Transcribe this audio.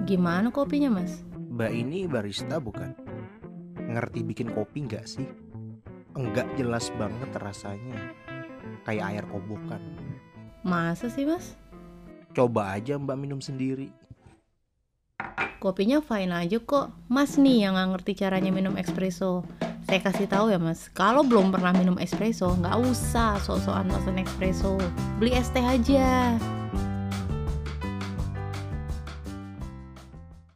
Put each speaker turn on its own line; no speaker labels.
Gimana kopinya, Mas?
Mbak ini barista bukan? Ngerti bikin kopi nggak sih? Enggak, jelas banget rasanya. Kayak air kobokan.
Masa sih, Mas?
Coba aja Mbak minum sendiri.
Kopinya fine aja kok. Mas nih yang nggak ngerti caranya minum espresso. Saya kasih tahu ya, Mas. Kalau belum pernah minum espresso, nggak usah sok-sokan pesan espresso. Beli es teh aja.